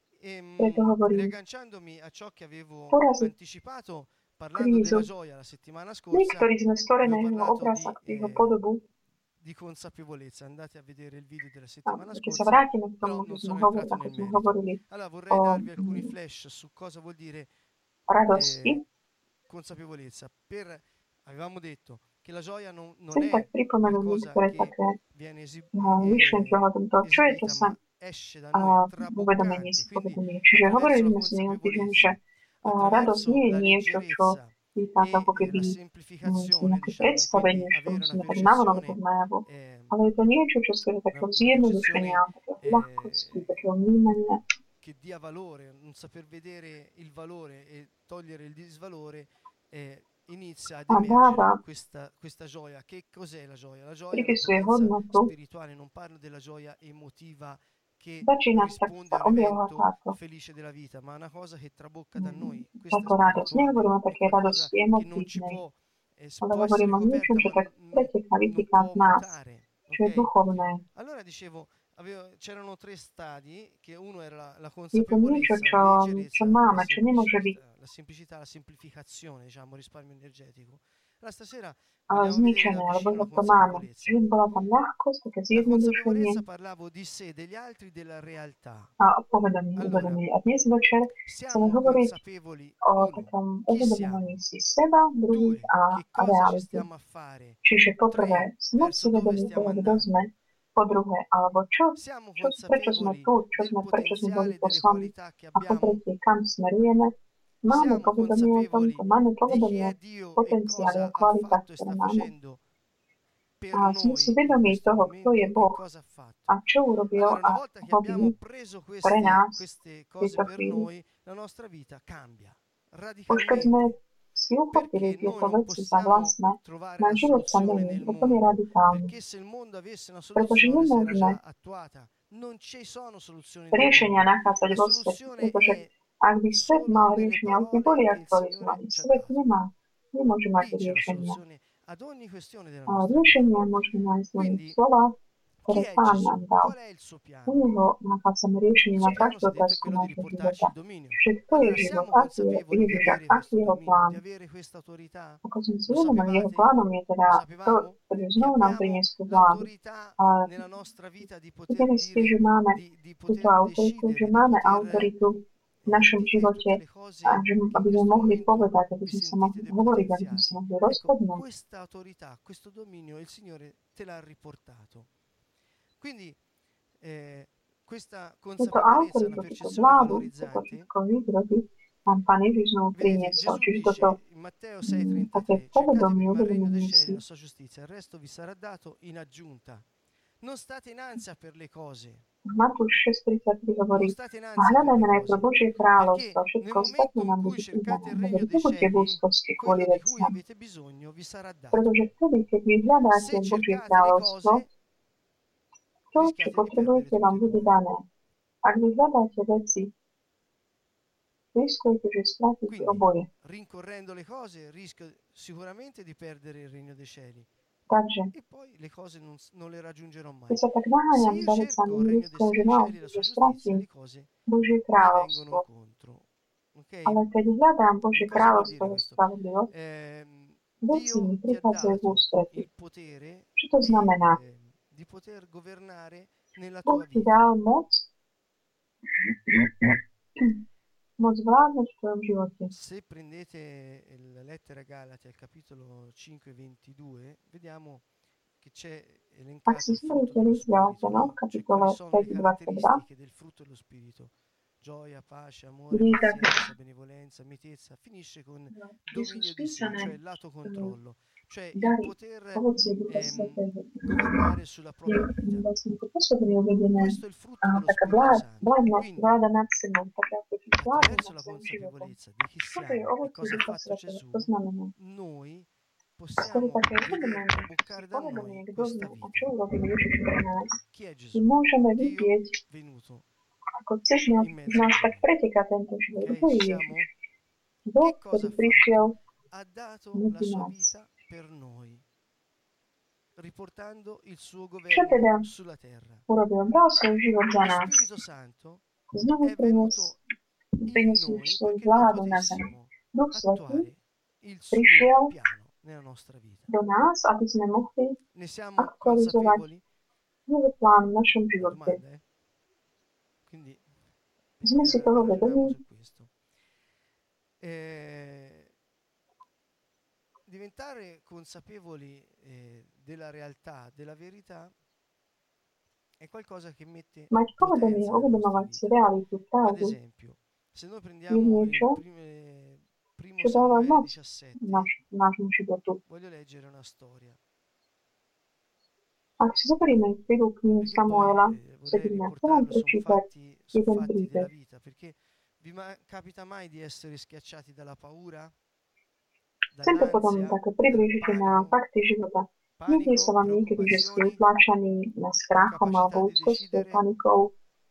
B: preto hovorím,
A: Riagganciandomi a ciò che avevo
B: poraziť
A: anticipato parlando
B: krízu.
A: della gioia la settimana
B: My,
A: scorsa,
B: ktorí sme stvorené
A: avevo
B: jeho
A: parlato
B: obraz a jeho podobu,
A: di consapevolezza. Andate a vedere il video della
B: a
A: settimana
B: keď sa
A: scorsa,
B: vrátime k
A: però
B: tomu,
A: non
B: že sme
A: sono entrato
B: ako
A: nel
B: sme
A: merito.
B: hovorili
A: Allora vorrei
B: o
A: darvi alcuni flash su cosa vuol dire
B: radosti,
A: consapevolezza. Avevamo detto che la gioia non
B: chcem tak
A: è
B: pripomenúť
A: qualcosa
B: niektoré
A: che
B: také
A: viene
B: myšlienky ohľadom toho, čo je to
A: esibita,
B: sa
A: ma esce da noi
B: uvedomenie
A: traboccante.
B: si
A: Quindi
B: povedomie. Čiže hovorili sme si minulý týždeň, že radosť
A: attraverso
B: nie je
A: la
B: niečo, čo
A: leggerezza
B: týka to ako
A: e
B: keby
A: la semplificazione,
B: nejaké
A: diciamo, quindi
B: predstavenie, že to
A: avere una
B: musíme tak navonok
A: percezione,
B: najavo, ale je to niečo, čo skôr takého
A: una
B: zjednodušenia, takého ľahkosti, takého vnímania,
A: che dia valore, non saper vedere il valore e togliere il disvalore, inizia ad
B: a dáva,
A: emergere questa gioia. Che cos'è la gioia? La gioia è la
B: pripisuje
A: potenza
B: hodnotu,
A: spirituale, non parlo della gioia emotiva che
B: začína tak
A: risponde
B: sa
A: a un
B: objavovať
A: evento
B: táto
A: felice della vita, ma è una cosa che trabocca da noi, questa è
B: táto radosť.
A: spirituale,
B: Nehovorím o
A: è
B: také
A: qualcosa
B: radosti
A: che non ci
B: emotívnej,
A: può,
B: ale
A: può essere
B: hovorím o niečom,
A: coperta,
B: čo
A: ma
B: tak preteká,
A: non
B: vytýka
A: può
B: z nás,
A: mutare.
B: čo je
A: Ok?
B: duchovné.
A: Allora dicevo, c'erano 3 stadi, che uno era la
B: Je to niečo,
A: consapevolezza, la
B: čo
A: leggerezza,
B: máme, čo nemôže byť
A: la semplicità, la semplificazione, diciamo, risparmio energetico. Allora stasera vogliamo vedere
B: zničené,
A: da
B: lebo
A: vicino la
B: to máme.
A: consapevolezza.
B: Čiže bola tam ľahkosť, také
A: La
B: zjednodušenie
A: consapevolezza parlavo di sé, degli altri, della realtà.
B: a povedomie,
A: Allora,
B: uvedomenie. A dnes večer chceme
A: siamo
B: hovoriť
A: consapevoli,
B: o
A: uno,
B: takom
A: chi
B: uvedomovaní
A: siamo,
B: si seba, druhých
A: due,
B: a
A: che cosa ci
B: reality.
A: stiamo a fare,
B: Čiže poprvé,
A: tre,
B: sme si
A: verso dove
B: vedomi
A: stiamo
B: toho, kto
A: andando.
B: sme, po druhé, alebo
A: Siamo
B: prečo sme
A: consapevoli
B: tu,
A: del
B: prečo sme boli
A: potenziale delle
B: poslaní.
A: qualità che
B: A po
A: abbiamo.
B: tretie, kam smerujeme. Máme
A: Siamo
B: povedomie o
A: consapevoli
B: tomto, máme
A: di chi
B: povedomie
A: è
B: o
A: Dio e
B: potenciále,
A: cosa
B: o
A: ha
B: kvalitách,
A: fatto e
B: ktoré
A: sta
B: máme.
A: facendo per
B: A sme
A: noi
B: si
A: in
B: vedomí
A: questo
B: toho, kto je
A: momento e
B: Boh
A: cosa ha fatto.
B: a čo urobil
A: Allora, una
B: a
A: volta che abbiamo
B: robí
A: preso
B: pre nás
A: queste
B: v
A: cose
B: tejto
A: per
B: chvíli.
A: noi, la nostra vita cambia
B: Už keď sme
A: radicalmente,
B: si uchopili
A: perché noi
B: tieto
A: non
B: veci za
A: possiamo
B: vlastné,
A: trovare
B: náš
A: la
B: život sa
A: soluzione
B: mení
A: nel
B: úplne
A: mondo,
B: radikálne.
A: perché se il mondo avesse una
B: Pretože
A: soluzione, se era
B: nemôžeme
A: già attuata. Non ci sono soluzioni nel
B: riešenia
A: mondo.
B: nachádzať
A: La
B: vo svete,
A: soluzione
B: pretože
A: è
B: ak by svet
A: solo
B: mal
A: nelle
B: riešenia, už by boli
A: parole che il Signore
B: aktualizovaní.
A: ci ha
B: Svet
A: dato.
B: nemôže mať
A: Lì c'è la
B: riešenia.
A: soluzione ad ogni questione della
B: A
A: nostra vita.
B: riešenia môžeme nájsť len v
A: Quindi,
B: slovách,
A: chi
B: ktoré
A: è
B: Pán
A: Gesù?
B: nám dal.
A: Qual è il suo
B: U
A: piano?
B: Neho nachádzame riešenie
A: Il
B: na
A: suo piano,
B: každú
A: si è detto, è
B: otázku
A: quello di
B: nášho
A: riportarci
B: života.
A: il dominio.
B: Čiže kto je
A: Allora,
B: život,
A: siamo
B: aký je
A: consapevoli di
B: Ježiš,
A: avere
B: aký je
A: questo
B: jeho
A: dominio,
B: plán.
A: di avere questa autorità?
B: Ako sme si
A: Lo
B: uvedomili, jeho
A: sapevate?
B: plánom je teda
A: Lo
B: to,
A: sapevamo?
B: ktorý
A: Che
B: znovu nám
A: abbiamo
B: priniesť tú vládu.
A: l'autorità
B: A
A: nella nostra vita di poter
B: vedeli ste,
A: dire,
B: že máme
A: di
B: túto
A: poter
B: autoritu, že
A: decidere, di
B: máme
A: poter
B: autoritu v našom
A: dire
B: živote,
A: tutte le cose
B: a že,
A: che in
B: aby sme
A: questo
B: mohli
A: momento
B: povedať, aby
A: vi
B: sme sa
A: sentite
B: mohli hovoriť, aby sme sa
A: depotenziati.
B: mohli
A: Ecco,
B: rozhodnúť.
A: questa autorità, questo dominio il Signore te l'ha riportato. Quindi questa
B: Túto
A: consapevolezza, una
B: autoritu, túto
A: percezione
B: vládu, toto
A: valorizzante,
B: všetko vyrobiť, nám Pán Ježiš znovu
A: vedete,
B: priniesol.
A: Gesù
B: Čiže toto
A: dice in Matteo
B: také
A: 6,33, cercate
B: povedomie,
A: prima il regno dei
B: uvedomenie
A: cieli
B: si.
A: e la sua giustizia, il resto vi sarà dato in aggiunta. Non state in ansia per le cose.
B: Matúš 6.33 hovorí,
A: Non state in
B: a
A: ansia per
B: hľadajme
A: le
B: najprv
A: cose.
B: Božie
A: Perché
B: kráľovstvo,
A: nel
B: všetko
A: momento
B: ostatné
A: in
B: nám
A: cui
B: bude
A: cercate
B: pridané.
A: il regno dei
B: Nebuďte v
A: cieli,
B: úzkosti kvôli
A: quello di cui
B: veciam,
A: avete bisogno vi sarà dato.
B: pretože vtedy, keď vy hľadáte
A: Se
B: Božie
A: cercate le
B: kráľovstvo,
A: cose,
B: to, čo
A: rischiate di
B: potrebujete,
A: perdere
B: vám
A: tutte e
B: bude
A: due.
B: dané. Ak vy hľadáte veci, riskujete, že stratíte
A: Quindi,
B: oboje.
A: rincorrendo le cose, rischio sicuramente di perdere il regno dei cieli.
B: Takže,
A: E poi le cose non le raggiungerò mai.
B: keď sa tak
A: Se
B: naháňam
A: io
B: za
A: cerco
B: vecami,
A: il regno
B: riskujem, že
A: dei cieli e la
B: naozaj,
A: sua
B: že
A: giustizia,
B: stratím
A: le cose
B: Božie
A: mi vengono
B: kráľovstvo.
A: incontro. Ok?
B: Ale keď hľadám
A: Che
B: Božie
A: cosa vuol
B: kráľovstvo
A: dire
B: a
A: questo?
B: spravodlivosť, veci mi
A: Dio ti ha
B: prichádzajú v
A: dato
B: ústrety.
A: il potere
B: Čo to znamená?
A: di poter governare nella
B: Boh
A: tua
B: ti
A: vita.
B: dal moc vládnuť v tvojom živote.
A: Se prendete la lettera Galati al capitolo 5, 22, vediamo che c'è
B: Ak
A: elencato
B: si
A: il frutto
B: zoberiete
A: dello
B: list
A: Spirito,
B: Galaťanom,
A: no? Cioè
B: kapitole
A: quali sono le
B: 5.22,
A: caratteristiche del frutto dello Spirito. Gioia, pace, amore,
B: vidí tak,
A: pazienza, benevolenza, mitezza. Finisce con
B: kde sú
A: dominio di sé,
B: spísané
A: cioè il lato controllo, cioè il
B: dary,
A: poter
B: ovocie Ducha Svätého.
A: governare sulla
B: Je
A: propria vita.
B: vlastne ako pôsobenie uvedené
A: Questo è il frutto dello
B: taká
A: Spirito Santo.
B: vládnosť,
A: Quindi,
B: vláda nad sebou, taká ako ti vládne
A: attraverso
B: nad
A: la
B: svojim životom.
A: consapevolezza di chi
B: Toto je
A: siamo e
B: ovocie
A: cosa ha
B: Ducha
A: fatto
B: Svätého.
A: Gesù,
B: To znamená,
A: noi
B: skrze
A: possiamo
B: také
A: vedere,
B: uvedomenie,
A: traboccare da
B: povedomie,
A: noi
B: kto
A: questa
B: sme a
A: vita.
B: čo urobil Ježiš pre nás.
A: Chi è
B: My
A: Gesù?
B: môžeme
A: Dio
B: vidieť,
A: venuto.
B: ako cez nás,
A: In
B: z
A: mezzo
B: nás
A: a
B: tak
A: noi.
B: preteká tento život.
A: Ok,
B: Kto je
A: ci
B: Ježiš?
A: siamo?
B: Boh,
A: Che cosa
B: ktorý
A: ha
B: prišiel
A: fatto? Ha dato la
B: medzi
A: sua
B: nás.
A: vita per noi, riportando il suo
B: Čo
A: governo
B: teda
A: sulla terra.
B: urobil? Dal svoj život za
A: Lo
B: nás.
A: Spirito Santo
B: Znovu
A: è venuto in
B: priniesol
A: noi
B: svoju
A: perché noi
B: vládu na zem.
A: potessimo
B: Duch Svätý
A: attuare il suo
B: prišiel
A: piano nella nostra vita.
B: do nás, aby sme mohli
A: Ne siamo
B: aktualizovať
A: consapevoli?
B: nový plán v našom
A: Una
B: živote.
A: domanda, eh? Quindi
B: Sme si toho
A: ragioniamo
B: vedomi,
A: su questo. Diventare consapevoli della realtà, della verità, è qualcosa che mette
B: mať povedomie,
A: potenza nella nostra
B: uvedomovať si
A: vita.
B: realitu,
A: Ad
B: pravdu,
A: esempio, se noi
B: je
A: prendiamo il
B: niečo,
A: primo
B: čo dáva
A: Samuele
B: moc
A: 17,
B: nášmu životu.
A: voglio leggere una storia.
B: Ak si zoberieme prvú knihu
A: Perché poi
B: Samuela
A: vorrei
B: 17, chcem vám
A: riportarlo, sono
B: prečítať
A: fatti
B: jeden
A: della
B: príbeh.
A: vita, perché capita mai di essere schiacciati dalla paura,
B: Chcem to potom
A: dall'ansia,
B: tak
A: dal
B: priblížiť na
A: panico,
B: fakty života. Nedie sa vám niekedy, že ste utláčaní strachom alebo úzkosťou, panikou,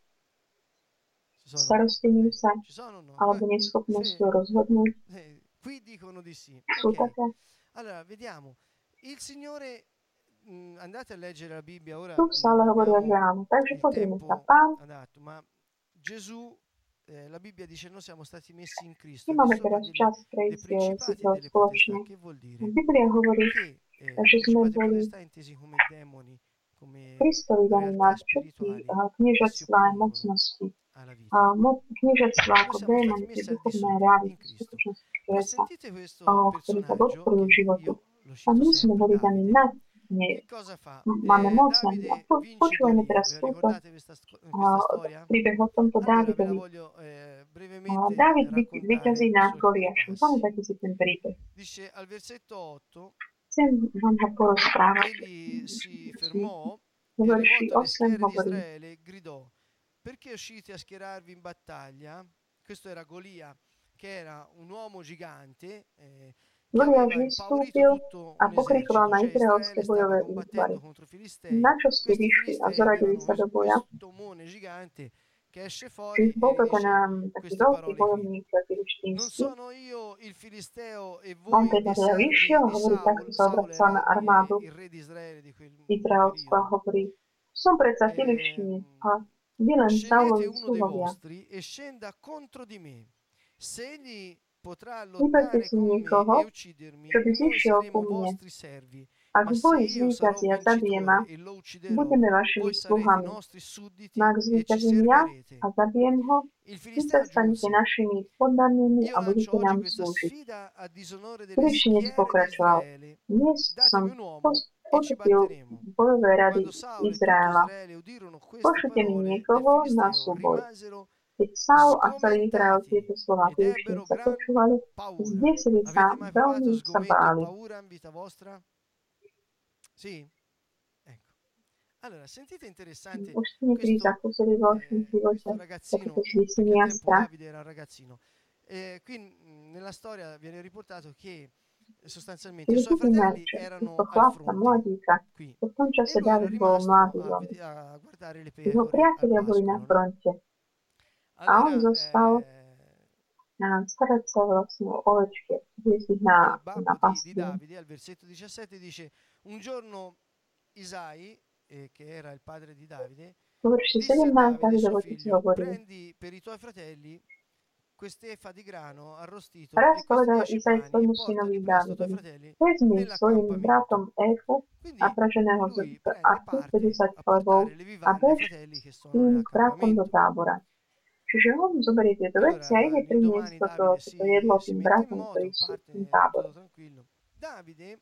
B: starostením sa
A: ci sono o no?
B: alebo neschopnosťou rozhodnúť?
A: Qui dicono di sì.
B: Sú
A: Ok,
B: také?
A: allora vediamo. Il Signore, andate a leggere la Bibbia ora.
B: Tu stále
A: non
B: hovoria, že
A: abbiamo
B: áno. Takže
A: il
B: pozrieme sa.
A: tempo
B: Pán,
A: adatto, ma Gesù, la Bibbia dice noi siamo stati messi in Cristo
B: nemáme
A: al di sopra
B: teraz čas
A: dei
B: prejsť si
A: principati
B: to
A: e delle
B: spoločne.
A: potestà. Che vuol dire?
B: Biblia hovorí,
A: Che
B: že sme
A: principati e
B: boli
A: potestà intesi come demoni, come
B: Kristovi daní
A: realtà
B: nad všetky
A: spirituali che si
B: kniežatstvá a
A: oppongono
B: mocnosti.
A: alla vita.
B: Kniežatstvá
A: Noi
B: ako
A: siamo stati
B: démoni,
A: messi
B: tie
A: al di
B: duchovné
A: sopra in
B: reality,
A: Cristo.
B: skutočnosti,
A: Ma
B: ktoré sa
A: sentite questo
B: ktorí sa
A: personaggio,
B: podporujú
A: che
B: životu.
A: io lo
B: A
A: cito
B: my sme
A: sempre,
B: boli daní
A: Davide.
B: nad nej.
A: Che cosa fa?
B: Máme moc nad ním.
A: Davide
B: A
A: vince
B: počúvajme
A: Golia.
B: teraz
A: Vi
B: túto
A: ricordate questa storia?
B: príbeh o tomto
A: Allora ve la
B: Dávidovi.
A: voglio brevemente
B: Dávid
A: raccontare
B: vyťazí
A: su
B: nad
A: alcuni
B: Goliášom.
A: passi.
B: Pamätáte si ten príbeh.
A: Dice al versetto 8,
B: Chcem vám ho porozprávať.
A: egli si fermò e
B: Vo verši
A: rivolto alle
B: 8
A: schiere di
B: hovorí,
A: Israele gridò: perché uscite a schierarvi in battaglia? Questo era Golia, che era un uomo gigante che
B: Goliáš
A: aveva impaurito
B: vystúpil
A: tutto
B: a
A: un
B: pokrikoval
A: esercito,
B: na
A: cioè
B: izraelské
A: Israele
B: bojové
A: stava
B: útvary.
A: combattendo contro i Filistei.
B: Na čo ste
A: Questi
B: vyšli a
A: Filistei
B: zaradili
A: avevano
B: sa do boja?
A: questo mone gigante che esce
B: Čiže
A: fuori
B: bol
A: e
B: to ten
A: dice
B: taký
A: queste
B: veľký
A: parole qui:
B: bojovník
A: non
B: filištínsky.
A: sono io il Filisteo e
B: On
A: voi
B: teda
A: dei servi
B: vyšiel a
A: di
B: hovorí, takto
A: Saul.
B: sa
A: Saul
B: obracal na
A: era
B: armádu
A: il re di Israele di quel
B: izraelskú a
A: periodo.
B: hovorí, som predsa filištín a vy len
A: Scegliete
B: Saulovi
A: uno dei
B: sluhovia.
A: vostri e scenda contro di me. Se egli potrà
B: Vyberte
A: lottare
B: si
A: con me
B: niekoho,
A: e uccidermi,
B: čo by
A: noi
B: zišiel ku
A: saremo
B: mne.
A: vostri servi.
B: Ak
A: Ma
B: v
A: se
B: boji
A: io sarò
B: zvíťazí a zabije ma,
A: vincitore e lo ucciderò,
B: budeme vašimi
A: voi sarete i
B: sluhami.
A: nostri sudditi
B: No ak
A: e ci
B: zvíťazím ja
A: servirete.
B: a zabijem ho,
A: Il
B: vy
A: Filisteo
B: sa stanete
A: aggiunse:
B: našimi poddanými
A: io
B: a
A: lancio
B: budete
A: oggi
B: nám
A: questa
B: slúžiť.
A: sfida a disonore delle
B: Filištinec
A: schiere di
B: pokračoval.
A: Israele.
B: Dnes som
A: Datemi un uomo e ci
B: Pošuti
A: batteremo.
B: bojové rady
A: Quando Saulo e tutto
B: Izraela.
A: Izraele udirono queste
B: Pošlite mi
A: parole del
B: niekoho na
A: Filisteo,
B: súboj.
A: rimasero
B: Keď Saul a celý Izrael
A: sgomentati
B: tieto slova
A: ed ebbero
B: Filištín sa
A: gran
B: počúvali,
A: paura.
B: zdesili sa,
A: Avete mai provato
B: veľmi sa
A: sgomento e
B: báli.
A: paura in vita vostra? Sì? Ecco. Allora, sentite interessante
B: Už ste niekedy
A: questo,
B: zakúsili vo vašom živote
A: questo
B: takéto
A: ragazzino, perché
B: zdesenie
A: al
B: a
A: tempo
B: strach?
A: Davide era un ragazzino. Qui nella storia viene riportato che sostanzialmente i
B: Keď
A: suoi
B: vidíme,
A: fratelli
B: že
A: erano
B: týchto
A: al
B: chlapca,
A: fronte
B: mladíka,
A: qui
B: v tom
A: e
B: čase
A: lui era
B: David bol
A: rimasto
B: mladý veľmi.
A: a guardare le
B: Jeho
A: pecore al
B: priatelia boli na
A: pascolo, no?
B: fronte a on
A: Allora,
B: zostal starať sa vlastne o ovečky, viesť ich
A: il
B: na
A: babbo di
B: pastvinu.
A: Davide al versetto 17 dice: un giorno Isai, che era il padre di Davide,
B: V verši
A: disse a
B: 17
A: Davide suo
B: Davidov otec
A: figlio:
B: hovorí:
A: prendi per i tuoi fratelli quest'efa di grano arrostito
B: Raz
A: e questi
B: povedal
A: 10
B: Izaj
A: pani e
B: svojmu
A: portali
B: synovi
A: presto ai tuoi
B: Dávidovi:
A: fratelli
B: vezmi svojim bratom
A: nell'accampamento.
B: Éfu a
A: Quindi
B: praženého
A: lui
B: a
A: prende parte
B: 50
A: a
B: chlebov
A: portare le
B: a
A: vivande ai
B: bež
A: fratelli che
B: s
A: sono
B: tým bratom do
A: nell'accampamento.
B: tábora. Čiže on zoberie tieto veci a
A: Allora,
B: ide priniesť
A: l'indomani Davide
B: toto jedlo
A: si
B: tým
A: mette in
B: bratom, ktorí
A: moto,
B: sú v tým
A: parte
B: tábore.
A: tutto tranquillo. Davide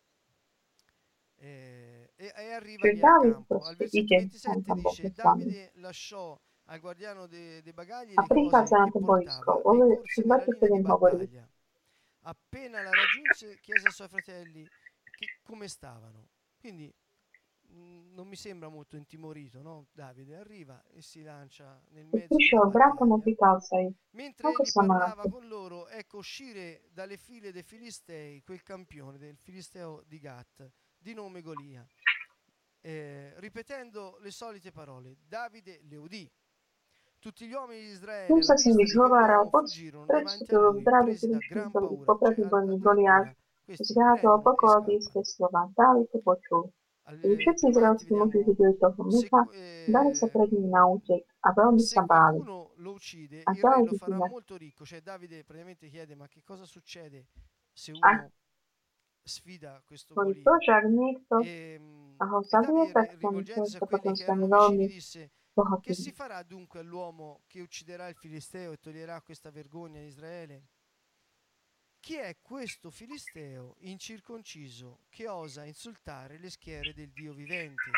A: e arriva
B: Čiže
A: lì al
B: Dávid
A: campo. Al
B: proste
A: versetto
B: ide, on
A: 27
B: tam bol
A: dice:
B: poslaný.
A: Davide lasciò al guardiano dei bagagli
B: A
A: le cose
B: prichádza na
A: che
B: to boisko.
A: portava
B: Vo
A: e
B: verši
A: corse nella linea di
B: 27 hovorí:
A: battaglia. Appena la raggiunse, chiese ai suoi fratelli come stavano. Quindi non mi sembra molto intimorito, no? Davide arriva e si lancia nel
B: Keď
A: mezzo della
B: prišiel bratom,
A: battaglia.
B: opýtal sa ich,
A: Mentre
B: ako
A: egli
B: sa
A: parlava
B: máte.
A: con loro, ecco uscire dalle file dei Filistei quel campione del Filisteo di Gat, di nome Golia, ripetendo le solite parole. Davide le udì. Tutti gli uomini di Israele,
B: Tým
A: alla
B: sa s nimi
A: vista di quell'uomo,
B: zhováral,
A: fuggirono davanti a
B: predstúpil k
A: lui,
B: Dávid
A: presi da gran
B: Filištícovi,
A: paura. Cioè,
B: popredný bojovník Goliáš,
A: addirittura questi
B: zhľadol
A: prendono e
B: okolo blízke
A: scappano.
B: slova. Dávid to počul. Keď všetci
A: Più avanti
B: izraelskí muži
A: vediamo,
B: videli toho mnicha, dali sa pred ním na útek a veľmi
A: se
B: sa báli.
A: qualcuno lo uccide,
B: A
A: il re
B: ďalej
A: lo farà
B: vidíme,
A: molto ricco. Cioè Davide praticamente chiede: ma che cosa succede se
B: ak
A: uno sfida questo
B: boli to,
A: Golia?
B: že ak niekto ho
A: E
B: zabije,
A: Davide,
B: tak ten
A: rivolgendosi a
B: sa
A: quelli
B: potom
A: che
B: stane
A: erano vicini,
B: veľmi
A: disse: che
B: bohatý.
A: si farà dunque all'uomo che ucciderà il Filisteo e toglierà questa vergogna a Israele? Chi è questo Filisteo incirconciso che osa insultare le schiere del Dio vivente?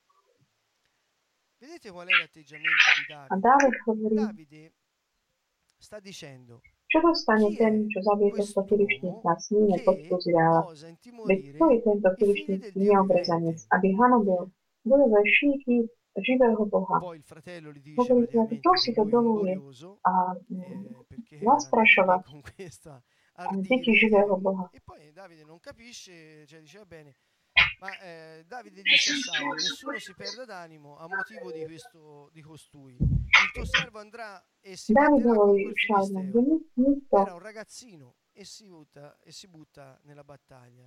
A: Vedete qual è l'atteggiamento di
B: A
A: Davide?
B: Dávid hovorí,
A: Davide sta dicendo:
B: čo dostane
A: chi
B: ten,
A: è
B: čo zabije tohto
A: quest'uomo
B: Filištínca, smíne
A: che
B: Izraela.
A: osa
B: Veď kto
A: intimorire
B: je tento
A: i figli del
B: filištínsky
A: Dio
B: neobrezanec,
A: vivente?
B: aby hanobil bojové šíky živého Boha?
A: Poi il fratello gli dice
B: Hovorí sa, kto
A: praticamente
B: si
A: che
B: to
A: lui è un
B: dovoluje
A: glorioso,
B: a
A: perché era andato lì
B: zastrašovať
A: con questa
B: deti
A: ardire,
B: živého Boha.
A: e poi Davide non capisce, cioè dice: va bene, ma Davide disse a Saulo: nessuno si perda d'animo a motivo di costui. Il tuo servo andrà e si
B: Dávid
A: batterà con
B: hovorí
A: quel
B: Šaulom, že
A: Filisteo.
B: nikto
A: Era un ragazzino e si butta nella battaglia.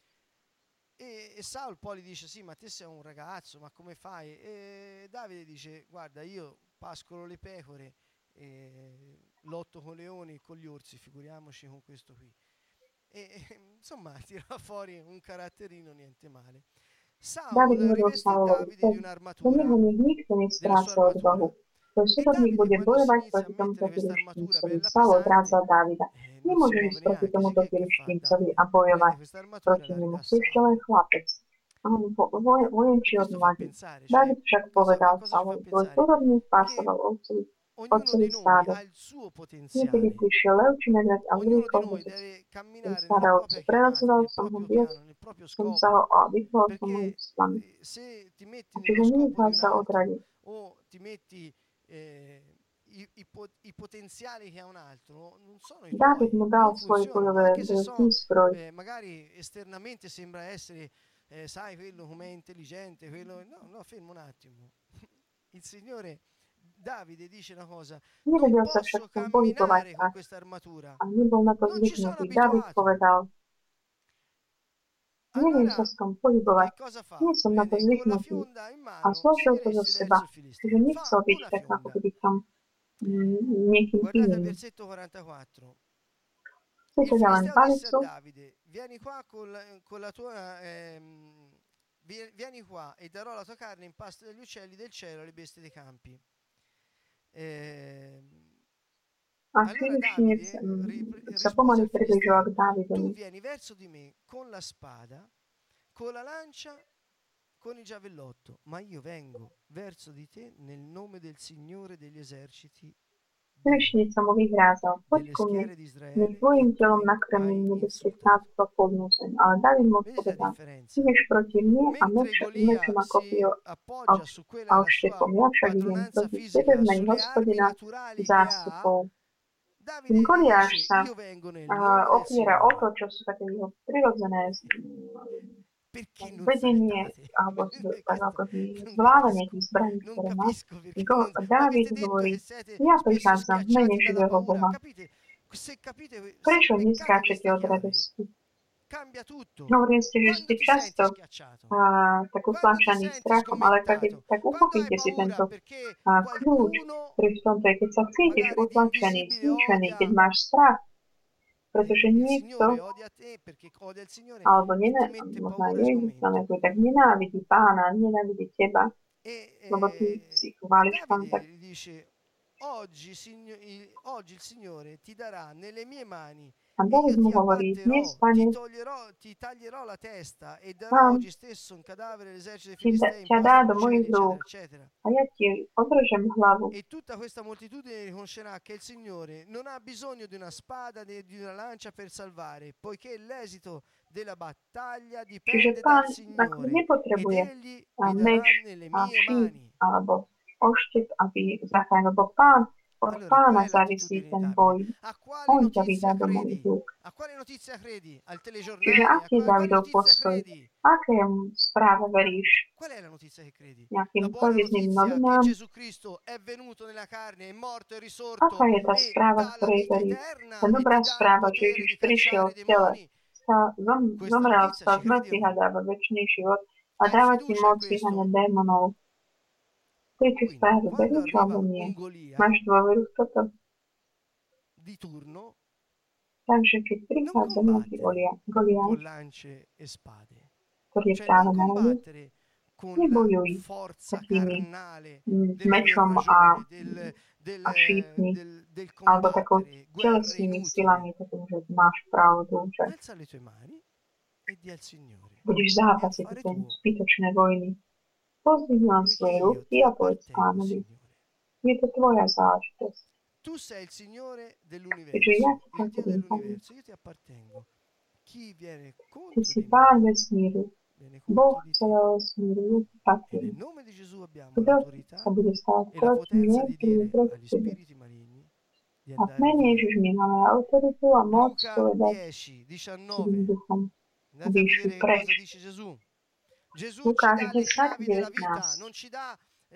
A: E Saul poi gli dice: sì, ma te sei un ragazzo, ma come fai? E Davide dice: guarda, io pascolo le pecore, lotto con leoni e con gli orsi, figuriamoci con questo qui. Insomma, tira fuori un caratterino niente male. Saul
B: Dávid hovoril
A: rivestì
B: Saulovi,
A: Davide di
B: do neho
A: un'armatura,
B: nech nikto
A: della sua
B: nestráca odvahu.
A: armatura.
B: Tvoj
A: E
B: súdobník
A: Davide,
B: bude
A: quando si
B: bojovať
A: inizia a
B: proti tomuto
A: mettere questa armatura
B: filištíncovi.
A: bella
B: Saul
A: pesante,
B: odrádza Dávida.
A: non si
B: Nemôžeš
A: muove
B: ísť proti
A: neanche. Dice:
B: tomuto
A: che fa
B: filištíncovi a
A: Davide?
B: bojovať
A: Prende questa armatura e
B: proti
A: la
B: nemu.
A: ridà a
B: Si ešte len
A: Saul.
B: chlapec. A on
A: E
B: vojenčí od
A: questo fa
B: mladí.
A: pensare, cioè,
B: Dávid však
A: a
B: povedal
A: cosa ci fa
B: Saulovi, tvoj
A: pensare?
B: súdobník
A: Che
B: pásoval
A: ognuno
B: otcovi
A: di noi
B: stádo.
A: ha il suo
B: Niekedy
A: potenziale.
B: prišiel lev či medveď a
A: Ognuno di
B: zvykol
A: noi
B: ho
A: deve camminare nella
B: stáda
A: propria
B: ovce.
A: chiamata,
B: Prerazoval
A: nel
B: som ho
A: proprio
B: viac,
A: piano, nel proprio
B: som sa ho
A: scopo.
B: a vyhol som ho
A: Perché
B: z planu.
A: se ti metti nello
B: Čiže
A: scopo
B: nenechal
A: di un
B: sa
A: altro
B: odradiť.
A: o ti metti i potenziali che ha un altro, non sono i
B: Dávid
A: tuoi
B: mu
A: e
B: dal
A: non
B: svoje
A: funzionano,
B: bojové
A: anche se so,
B: výzbroj.
A: magari esternamente sembra essere, sai, quello com'è intelligente, quello... No, no, fermo un attimo. Il Signore, Davide, dice una cosa: non
B: Nevedel sa však
A: posso
B: v tom pohybovať
A: camminare
B: a
A: con questa armatura,
B: nebol na to
A: non ci sono
B: zvyknutý. Dávid
A: abituato.
B: povedal, neviem sa
A: Allora,
B: s tom
A: che
B: pohybovať,
A: cosa fa?
B: nie som na to
A: Prende con la
B: zvyknutý.
A: fionda in
B: A
A: mano, si
B: zložil to zo
A: diresse
B: seba.
A: verso il
B: Čiže
A: Filisteo.
B: nechcel
A: Fa
B: byť
A: una
B: tak, ako
A: fionda.
B: keby tam niekým
A: Guardate al
B: iným.
A: versetto 44.
B: Si
A: Il
B: teda len
A: Filisteo disse a
B: palicu,
A: Davide: vieni qua con la tua... vieni qua e darò la tua carne in pasto degli uccelli del cielo alle bestie dei campi.
B: a
A: Allora
B: Filištínec
A: Davide
B: sa
A: rispose
B: pomaly
A: al
B: približoval
A: Filisteo:
B: k Dávidovi.
A: tu vieni verso di me con la spada, con la lancia, con il giavellotto, ma io vengo verso di te nel nome del Signore degli eserciti,
B: Gрешница mu vyhrázal, poď
A: delle
B: ku mne,
A: schiere di
B: nie
A: Israele,
B: tvojim
A: che tu
B: telom nakrmím
A: hai
B: nebeských
A: insultato.
B: náctv a plnú zem. Ale David mu
A: Vedete la
B: odpovedal,
A: differenza?
B: ideš proti mne a
A: Mentre
B: mečom
A: Golia
B: a
A: si
B: kopio a
A: appoggia su quella la sua
B: vštekom. Ja však idem
A: padronanza
B: proti
A: fisica,
B: tebe v mene
A: sulle armi
B: Hospodina
A: naturali che ha,
B: zástupov.
A: Davide gli
B: Goliáš
A: dice:
B: sa
A: io vengo nel nome del
B: opiera o to,
A: Signore.
B: čo sú také jeho prirodzené
A: Perché non
B: vedenie
A: salettate?
B: alebo tak
A: Questo
B: ako
A: non
B: zvládanie
A: capisco,
B: tých zbraní,
A: non
B: ktoré má.
A: capisco perché non
B: David
A: avete detto
B: hovorí,
A: che siete
B: ja
A: spesso
B: prichádzam v mene
A: schiacciati dalla
B: živého
A: paura.
B: Boha.
A: Capite? Se capite, se
B: Prečo
A: beccate
B: neskáčete
A: questa
B: od
A: chiave,
B: radosti?
A: cambia tutto.
B: Hovorím ste, že
A: Quando
B: ste
A: ti
B: často
A: senti schiacciato?
B: tak
A: Quando ti
B: utláčaní
A: senti
B: strachom, ale keď
A: sgomettato?
B: tak
A: Quando hai
B: uchopíte si
A: paura
B: tento
A: perché
B: kľúč,
A: qualcuno
B: ktorý v tomto je, keď sa cítiš
A: magari di
B: utlačený,
A: invisibile
B: zničený, keď
A: odia
B: máš strach, pretože
A: il
B: niekto,
A: Signore, odia te perché odia il Signore
B: alebo
A: e ti mette
B: možno aj
A: paura e
B: Ježiš tam
A: sgomento.
B: tak nenávidí pána, nenávidí teba, lebo ty si
A: E
B: chváliš pán, tak
A: Davide dice: oggi il Signore ti darà nelle mie mani
B: a
A: e
B: David
A: io
B: mu
A: ti
B: hovorí, dnes,
A: abbatterò,
B: pane,
A: ti taglierò la testa e darò
B: pán
A: oggi stesso un cadavere all'esercito dei Filistei in
B: ťa dá
A: posta
B: do
A: d'uccelli,
B: mojich
A: eccetera,
B: rúk
A: eccetera.
B: a ja ti odrežem hlavu.
A: E tutta questa moltitudine riconoscerà che il Signore non ha bisogno di una spada né di una lancia per salvare, poiché l'esito della battaglia
B: Čiže
A: dipende
B: pán
A: dal
B: ako
A: Signore ed
B: nepotrebuje
A: egli vi
B: meč
A: darà nelle
B: a
A: mie
B: šíp
A: mani.
B: alebo oštep, aby zachránil, lebo pán, od
A: Allora, qual
B: pána
A: è
B: závisí
A: l'attitudine di
B: ten
A: Davide?
B: boj.
A: A quale
B: On ťa vydá
A: notizia
B: do mojich
A: credi?
B: rúk.
A: A quale notizia credi? Al
B: Čiže
A: telegiornale?
B: aký je
A: A quale
B: Davidov
A: notizia
B: postoj?
A: credi?
B: Akému správe veríš?
A: Qual è la notizia che credi? La
B: Nejakým
A: buona
B: televíznym
A: notizia che
B: novinám?
A: Gesù Cristo è venuto nella carne, è morto, è risorto
B: Aká je tá
A: e
B: správa,
A: dà la
B: ktorej
A: vita
B: veríš?
A: eterna
B: Tá
A: e
B: dobrá
A: ti dà il
B: správa, že
A: potere
B: Ježiš
A: di
B: prišiel
A: cacciare
B: v tele,
A: demoni. Questa
B: zomrel,
A: notizia
B: stal
A: ci
B: z
A: credi o
B: mŕtvych a
A: no?
B: dáva večný život a
A: Hai
B: dáva ti
A: fiducia in
B: moc vyháňať
A: questo?
B: démonov. Tejto
A: Quindi,
B: správe
A: quando
B: veríš
A: arriva
B: alebo
A: un
B: nie?
A: Golia
B: Máš dôveru v toto?
A: di turno,
B: Takže keď
A: non
B: prichádza nejaký
A: combattere
B: Goliáš,
A: con lance e spade,
B: ktorý je
A: cioè
B: práve
A: non
B: na rade,
A: combattere con la
B: nebojuj
A: forza
B: takými
A: carnale della
B: mečom
A: persuasione,
B: a šípmi,
A: del
B: alebo takou
A: combattere guerre
B: telesnými
A: inutili.
B: silami, takým, že máš pravdu, že
A: Alza le tue mani e di al Signore.
B: budeš
A: E
B: zápasiť
A: affare
B: tie
A: tuo,
B: zbytočné vojny. Pozdvihni len
A: poiché
B: svoje
A: io
B: ruky
A: ti
B: a povedz
A: appartengo,
B: pánovi,
A: Signore.
B: je to tvoja záležitosť.
A: Tu sei il Signore
B: Keďže ja
A: dell'universo,
B: ti
A: il
B: tak
A: Dio
B: budem pánom.
A: dell'universo, io ti appartengo. Chi viene
B: Ty
A: contro
B: si
A: di
B: pán
A: me,
B: vesmíru,
A: viene
B: Boh
A: contro di te.
B: celého vesmíru, ja ti
A: E nel
B: patrím.
A: nome di Gesù abbiamo
B: Kto
A: l'autorità
B: sa bude stávať
A: e la
B: proti mne,
A: potenza di
B: príde
A: dire
B: proti
A: agli
B: tebe.
A: spiriti maligni di
B: A v
A: andare
B: mene
A: via.
B: Ježiš my máme autoritu a moc
A: Luca
B: povedať
A: 10,
B: zlým
A: 19.
B: duchom,
A: Andate
B: aby
A: a
B: išli
A: vedere che
B: preč.
A: cosa dice Gesù. Gesù ci
B: Lukáš
A: dà le
B: 10,
A: chiavi della vita,
B: 19.
A: non ci dà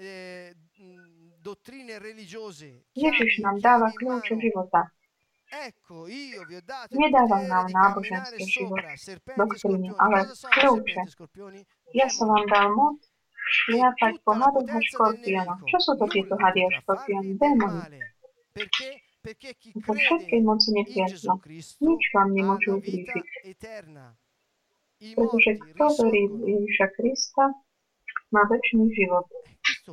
A: dottrine religiose,
B: Ježiš nám
A: chiavi
B: dáva
A: in
B: kľúče
A: mano.
B: života.
A: Ecco, io vi ho dato il
B: Nedáva
A: potere
B: nám
A: di camminare
B: náboženský život,
A: sopra serpenti e
B: doktrínu,
A: scorpioni.
B: ale
A: Cosa sono
B: kľúče.
A: serpenti e scorpioni?
B: Ja som
A: Demoni.
B: vám dal moc
A: E
B: šliapať po
A: tutta la
B: hadoch a
A: potenza del
B: škorpiónoch.
A: nemico.
B: Čo sú to tieto
A: Nulla
B: hady a
A: potrà
B: škorpióny?
A: farvi del
B: Démoni.
A: male. Perché? Perché chi
B: Po všetkej
A: crede
B: moci
A: in
B: nepriateľa.
A: Gesù Cristo
B: Nič vám
A: ha
B: nemôže
A: la vita
B: ublížiť.
A: eterna. I
B: Pretože
A: morti
B: kto verí v
A: risorgono.
B: Ježiša Krista, má večný život.
A: Questo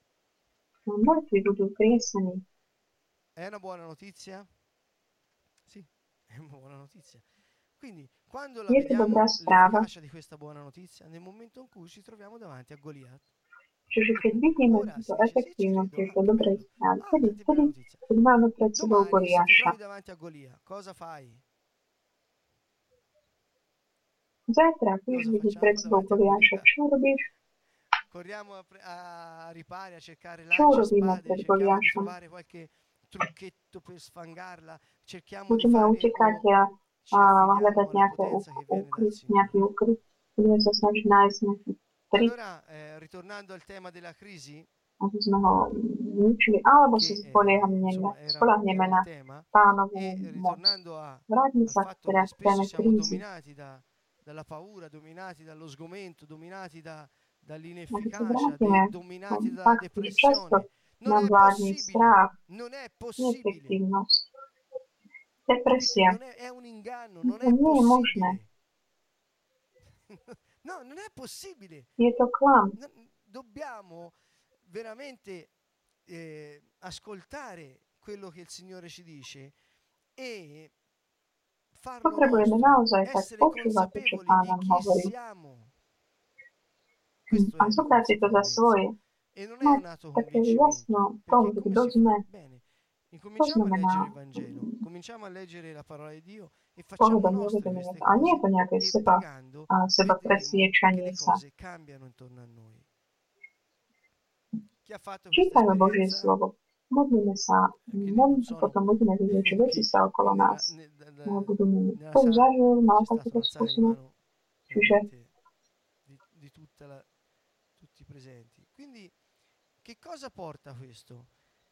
B: A mŕtvi budú kriesení.
A: è una buona notizia? Sì, è una buona notizia. Quindi, quando la
B: Je to
A: vediamo
B: dobrá správa.
A: l'efficacia di questa buona notizia, nel momento in cui ci troviamo davanti a Goliat.
B: Čiže keď vidíme
A: Ora
B: túto
A: si dice, sì, ci
B: efektívnosť
A: credo,
B: tejto dobrej
A: bello.
B: správy,
A: Tante belle notizie.
B: keď máme pred sebou
A: Domani, se ti
B: Goliáša.
A: trovi davanti a Golia, cosa fai?
B: Zajtra, keď
A: Cosa
B: vidíš
A: facciamo
B: pred sebou
A: davanti a
B: Goliáša,
A: Golia?
B: čo robíš?
A: Corriamo a ripari, a cercare
B: Čo
A: lance e
B: robíme
A: spade,
B: pred
A: cerchiamo di
B: Goliášom?
A: trovare qualche trucchetto per sfangarla, cerchiamo di
B: Budeme
A: fare
B: utekať
A: o ci
B: a
A: affidiamo
B: hľadať
A: alla potenza che viene dal
B: nejaký
A: Signore.
B: ukryt. Budeme sa snažiť nájsť nejaký trik,
A: Allora, ritornando al tema della crisi,
B: aby sme ho ničili, alebo
A: che
B: sa spoľahneme
A: era
B: na
A: il tema,
B: pánovú
A: e
B: moc.
A: ritornando
B: Vráťme
A: al
B: sa
A: fatto
B: teda
A: che
B: k téme
A: spesso siamo
B: krízy.
A: dominati dalla paura, dominati dallo sgomento, dominati
B: Ak sa
A: dall'inefficacia,
B: vrátime
A: dominati
B: k
A: dalla
B: faktu, že často
A: depressione. Non
B: nám
A: è
B: vládne
A: possibile,
B: strach,
A: non è possibile.
B: neefektívnosť,
A: Capite?
B: depresia.
A: Non è un inganno, non
B: To
A: è
B: nie je možné.
A: possibile. No, non è possibile.
B: Je to klam.
A: Dobbiamo veramente ascoltare quello che il Signore ci dice e farlo
B: Potrebujeme
A: nostro,
B: naozaj tak
A: essere
B: počúvať to, čo
A: consapevoli
B: Pán
A: di
B: nám
A: chi
B: hovorí.
A: siamo Questo
B: a
A: è la
B: zobrať si to za
A: consapevolezza.
B: svoje.
A: E non è
B: Mať
A: un atto
B: také
A: convincimento,
B: jasno v
A: perché
B: tom,
A: è come
B: kto
A: si
B: sme.
A: fa. Bene,
B: To
A: incominciamo a leggere il
B: znamená
A: Vangelo, cominciamo a leggere la parola di Dio e facciamo
B: povedomie,
A: nostre
B: uvedomenie.
A: queste
B: A nie je
A: cose
B: to nejaké
A: e pregando
B: seba
A: vedremo che
B: presviečanie
A: le
B: sa.
A: cose cambiano intorno a noi. Chi ha fatto questa
B: Čítajme Božie
A: esperienza,
B: slovo. Modlíme sa,
A: quindi non sono
B: potom budeme vidieť, že veci
A: chi,
B: sa okolo
A: chi
B: nás budú meniť.
A: nella
B: Kto
A: sala
B: zažil, mal
A: c'è stata
B: takúto
A: un'alzata di
B: skúsenosť,
A: mano
B: čiže
A: veramente di tutti i presenti. Quindi che cosa porta questo?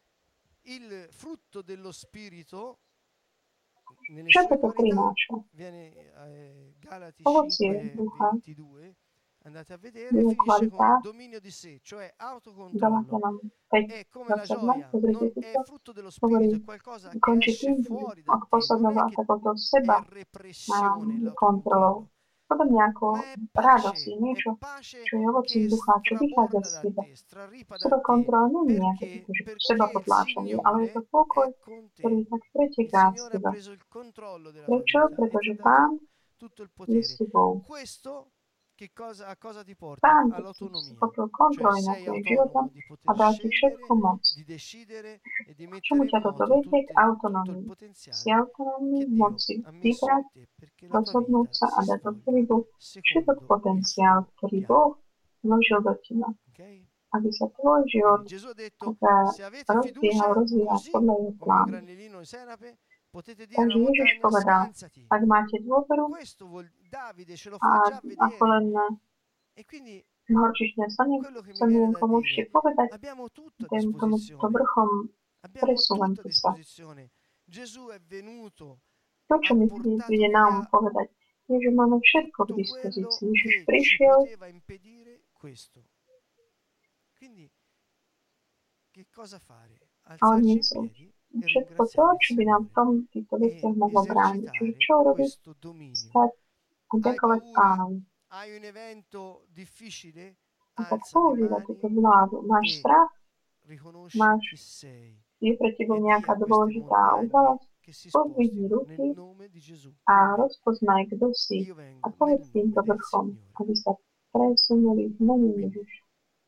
A: Il frutto dello spirito nelle
B: čo
A: sue
B: toto
A: qualità
B: prináša?
A: viene Galati
B: Ovocie ducha,
A: 5:22, andate a vedere,
B: jeho
A: finisce con
B: kvalita,
A: dominio di sé, cioè autocontrollo.
B: Galatianom 5,
A: È come la
B: 22,
A: gioia,
B: pozrite
A: non
B: si
A: è
B: to,
A: frutto dello
B: hovorí,
A: spirito, è qualcosa che
B: končí
A: esce
B: tým, že
A: fuori da
B: ako
A: te, non
B: posledná
A: è che
B: takouto
A: è
B: seba
A: repressione
B: kontrolou.
A: l'autocontrollo,
B: Podobne ako
A: ma è
B: radosť je
A: pace
B: niečo,
A: che
B: čo je ovocím ducha, čo vychádza
A: straborda
B: z
A: da
B: teba.
A: te, straripa da
B: Seba
A: te,
B: kontrola nie je nejaké také, že seba
A: perché il
B: potláčanie, ale je to
A: Signore
B: pokoj,
A: è con
B: ktorý
A: te.
B: tak
A: Il
B: preteká z
A: Signore ha
B: teba.
A: preso il controllo della tua
B: Prečo?
A: vita e ti
B: Pretože
A: ha
B: Pán
A: dato tutto il
B: je s
A: potere.
B: tebou.
A: Questo a cosa ti porta?
B: Pán ti
A: All'autonomia.
B: schopil
A: Cioè
B: kontroly nad
A: sei
B: tvojim životom
A: autonomo di
B: a
A: poter
B: dá ti všetku
A: scegliere,
B: moc.
A: di decidere e di
B: K čomu
A: mettere
B: ťa
A: in
B: toto
A: moto
B: vedie? K
A: tutto il
B: autonómii. Si
A: potenziale
B: autonómny,
A: che Dio
B: moci
A: ha messo
B: vybrať,
A: in te perché la tua
B: rozhodnúť
A: vita
B: sa a
A: si
B: dať do
A: svolga
B: pohybu všetok
A: secondo il
B: potenciál,
A: suo
B: ktorý
A: piano.
B: Boh vložil do teba.
A: Ok?
B: Aby sa tvoj život
A: Quindi Gesù ha detto,
B: tak
A: se avete
B: rozbiehal,
A: fiducia,
B: rozvíjal
A: così
B: podľa jeho
A: come un
B: plánu.
A: granellino di senape, potete dire
B: Takže
A: alla
B: Ježiš
A: montagna,
B: povedal,
A: scansati.
B: ak máte dôveru
A: Davide ce lo
B: a
A: fa già
B: ako
A: vedere.
B: len
A: E quindi
B: horčičné
A: quello che mi viene da
B: slnienko môžete
A: dire,
B: povedať,
A: abbiamo tutto a
B: tomuto
A: disposizione.
B: vrchom
A: Abbiamo
B: presúvam
A: tutto a
B: sa.
A: disposizione. Gesù è venuto,
B: To, čo
A: ha
B: mi
A: portato
B: príde
A: via
B: nám povedať, je, že máme všetko k
A: tutto
B: dispozícii.
A: quello
B: Ježiš
A: che ci
B: prišiel
A: poteva impedire questo. Quindi che cosa fare?
B: a
A: Alzarci in
B: odniesol
A: piedi e
B: všetko to,
A: ringraziare il
B: čo by nám v
A: Signore
B: tom týchto veciach
A: e
B: mohlo brániť. Čiže
A: esercitare
B: čo urobiť?
A: questo dominio.
B: Stať a
A: Hai
B: ďakovať
A: paura?
B: Pánovi.
A: Hai un evento difficile?
B: A tak
A: Alza le
B: používať
A: mani
B: túto vládu. Máš
A: e
B: strach?
A: riconosci
B: Máš,
A: chi sei
B: je pre teba
A: e di
B: nejaká
A: a queste
B: dôležitá
A: montagne
B: udalosť?
A: che si
B: Podvihni
A: spostino nel
B: ruky
A: nome di Gesù.
B: a
A: Amen.
B: rozpoznaj, kto si.
A: Io
B: A
A: vengo nel
B: povedz týmto
A: nome del
B: vrchom,
A: Signore.
B: aby sa presunuli v mene
A: Quindi
B: Ježiša.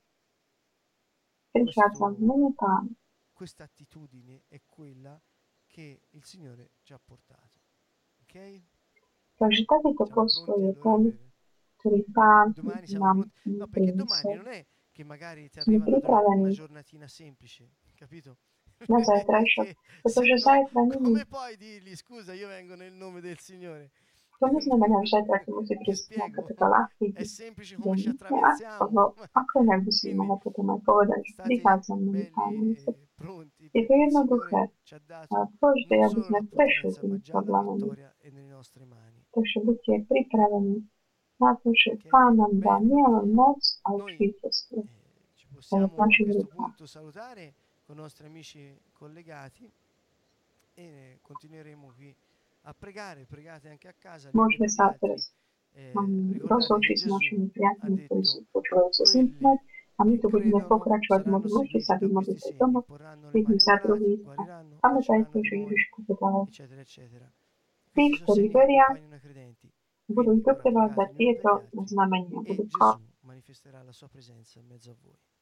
B: Prichádzam v mene Pána.
A: questa attitudine è quella che il Signore ci ha portato. Ok?
B: Takže takýto
A: Siamo
B: postoj
A: pronti
B: je
A: allora
B: ten,
A: per
B: ktorý Pán
A: domani? Siamo
B: nám
A: pronti? No, perché domani
B: priniesol.
A: non è che magari ti
B: Sme
A: arriva una
B: pripravení
A: giornatina semplice, capito?
B: na zajtrajšok,
A: Perché se
B: pretože
A: no,
B: zajtra nie
A: come puoi dirgli scusa, io vengo nel nome del Signore?
B: to neznamená, že zajtra ti musí
A: Ti
B: prísť nejaká
A: spiego?
B: taká ľahký
A: È semplice
B: deň.
A: come ci
B: Nie,
A: attraversiamo.
B: ako inak by si
A: Quindi
B: mohla potom aj povedať, že
A: state
B: prichádzam mene
A: belli
B: Pána.
A: e pronti
B: Je to
A: perché il
B: jednoduché.
A: Signore ci ha dato
B: Dôležité je,
A: non
B: aby
A: solo
B: sme
A: la
B: prešli
A: potenza,
B: tým
A: ma già la
B: problémom.
A: vittoria è nelle nostre mani.
B: Takže buďte pripravení na to, že
A: Ok?
B: Pán nám dá
A: Bene.
B: nielen moc, ale
A: Noi
B: víťazstvo.
A: ci
B: To je v
A: possiamo a
B: našich
A: questo
B: rukách.
A: punto salutare con i nostri amici collegati e continueremo qui a pregare. Pregate anche a casa. Gli uni
B: Môžeme
A: per gli
B: sa
A: altri.
B: teraz
A: Ricordate che
B: rozlúčiť s
A: Gesù
B: našimi
A: ha
B: priateľmi, ktorí
A: detto
B: sú počúvajú cez
A: quelli
B: internet a my
A: che
B: tu budeme
A: credono
B: pokračovať v
A: saranno
B: modlitbe, môžete sa
A: seguiti da
B: vymodliť
A: questi
B: aj
A: segni,
B: doma,
A: porranno le
B: jedni
A: mani
B: za
A: ammalati,
B: druhých.
A: guariranno,
B: Pamätajte,
A: cacceranno
B: že
A: demoni,
B: Ježiš povedal,
A: eccetera, eccetera.
B: tí,
A: Questi sono
B: ktorí
A: segni che
B: veria,
A: accompagnano i credenti.
B: budú
A: Quindi ora
B: trpevať za
A: pregate gli uni per
B: tieto
A: gli altri
B: znamenia.
A: e
B: Budú
A: Gesù manifesterà la sua presenza in mezzo a voi.